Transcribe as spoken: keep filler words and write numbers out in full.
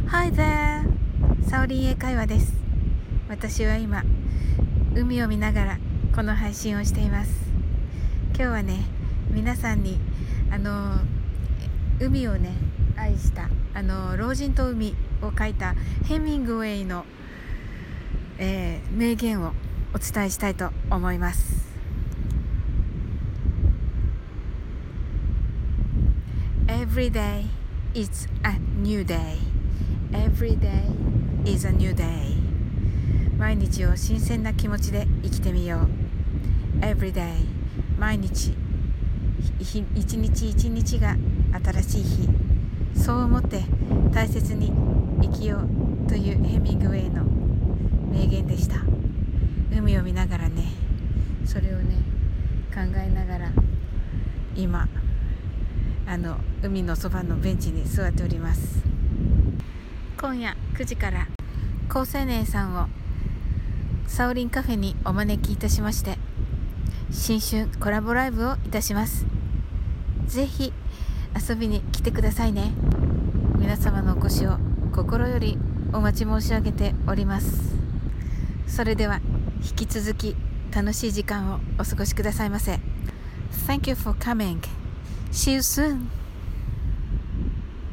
Hi there! サオリン英会話です。私は今、海を見ながらこの配信をしています。今日はね、皆さんにあの海をね愛したあの老人と海を書いたヘミングウェイの、えー、名言をお伝えしたいと思います。Every day is a new day.Every day is a new day. 毎日を新鮮な気持ちで生きてみよう。Every day 毎日一日一日が新しい日。そう思って大切に生きようというヘミングウェイの名言でした。海を見ながらね、それをね考えながら今あの海のそばのベンチに座っております。今夜くじから高青年さんをサオリンカフェにお招きいたしまして、新春コラボライブをいたします。ぜひ遊びに来てくださいね。皆様のお越しを心よりお待ち申し上げております。それでは引き続き楽しい時間をお過ごしくださいませ。 Thank you for coming. See you soon.